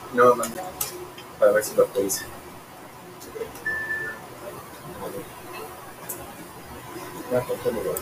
No, manda. Para ver si lo actualiza. Ya, pues,